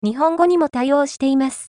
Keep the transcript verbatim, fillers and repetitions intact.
日本語にも対応しています。